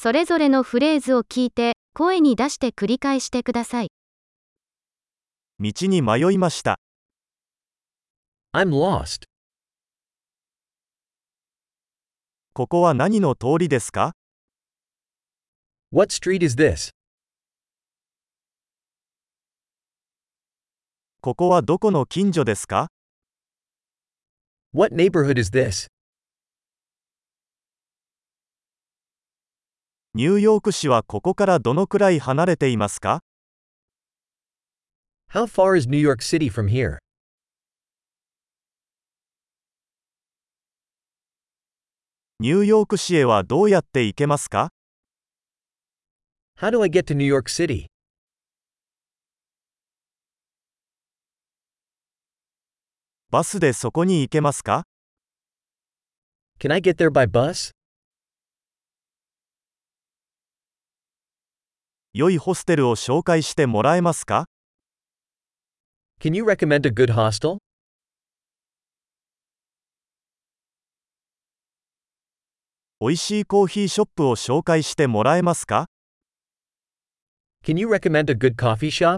それぞれのフレーズを聞いて、声に出して繰り返してください。 道に迷いました。 I'm lost. ここは何の通りですか？ What street is this? ここはどこの近所ですか？ What neighborhood is this? ニューヨーク市はここからどのくらい離れていますか？ How far is New York City from here? ニューヨーク市へはどうやって行けますか？ How do I get to New York City? バスでそこに行けますか？ Can I get there by bus? 良いホステルを紹介してもらえますか？ Can you recommend a good hostel? おいしいコーヒーショップを紹介してもらえますか？ Can you recommend a good coffee shop?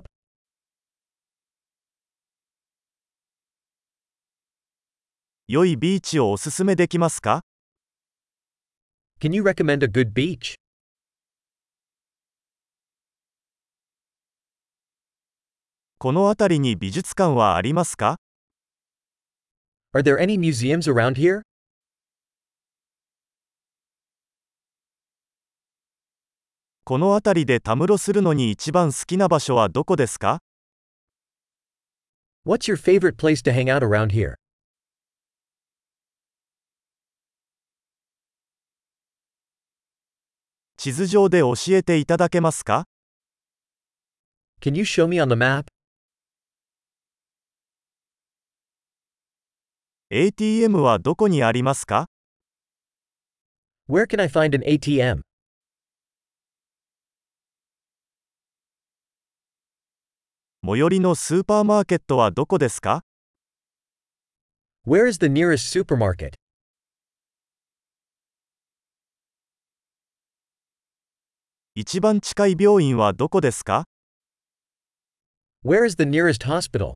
良いビーチをおすすめできますか？ Can you recommend a good beach? この辺りに美術館はありますか？ Are there any museums around here? この辺りでたむろするのに一番好きな場所はどこですか？ What's your favorite place to hang out around here? 地図上で教えていただけますか？ Can you show me on the map? ATM はどこにありますか？ Where can I find an ATM? 最寄りのスーパーマーケットはどこですか？ Where is the nearest supermarket? 一番近い病院はどこですか？ Where is the nearest hospital?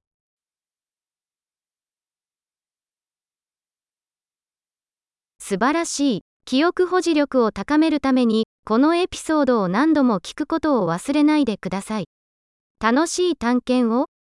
素晴らしい。記憶保持力を高めるために、このエピソードを何度も聞くことを忘れないでください。楽しい探検を。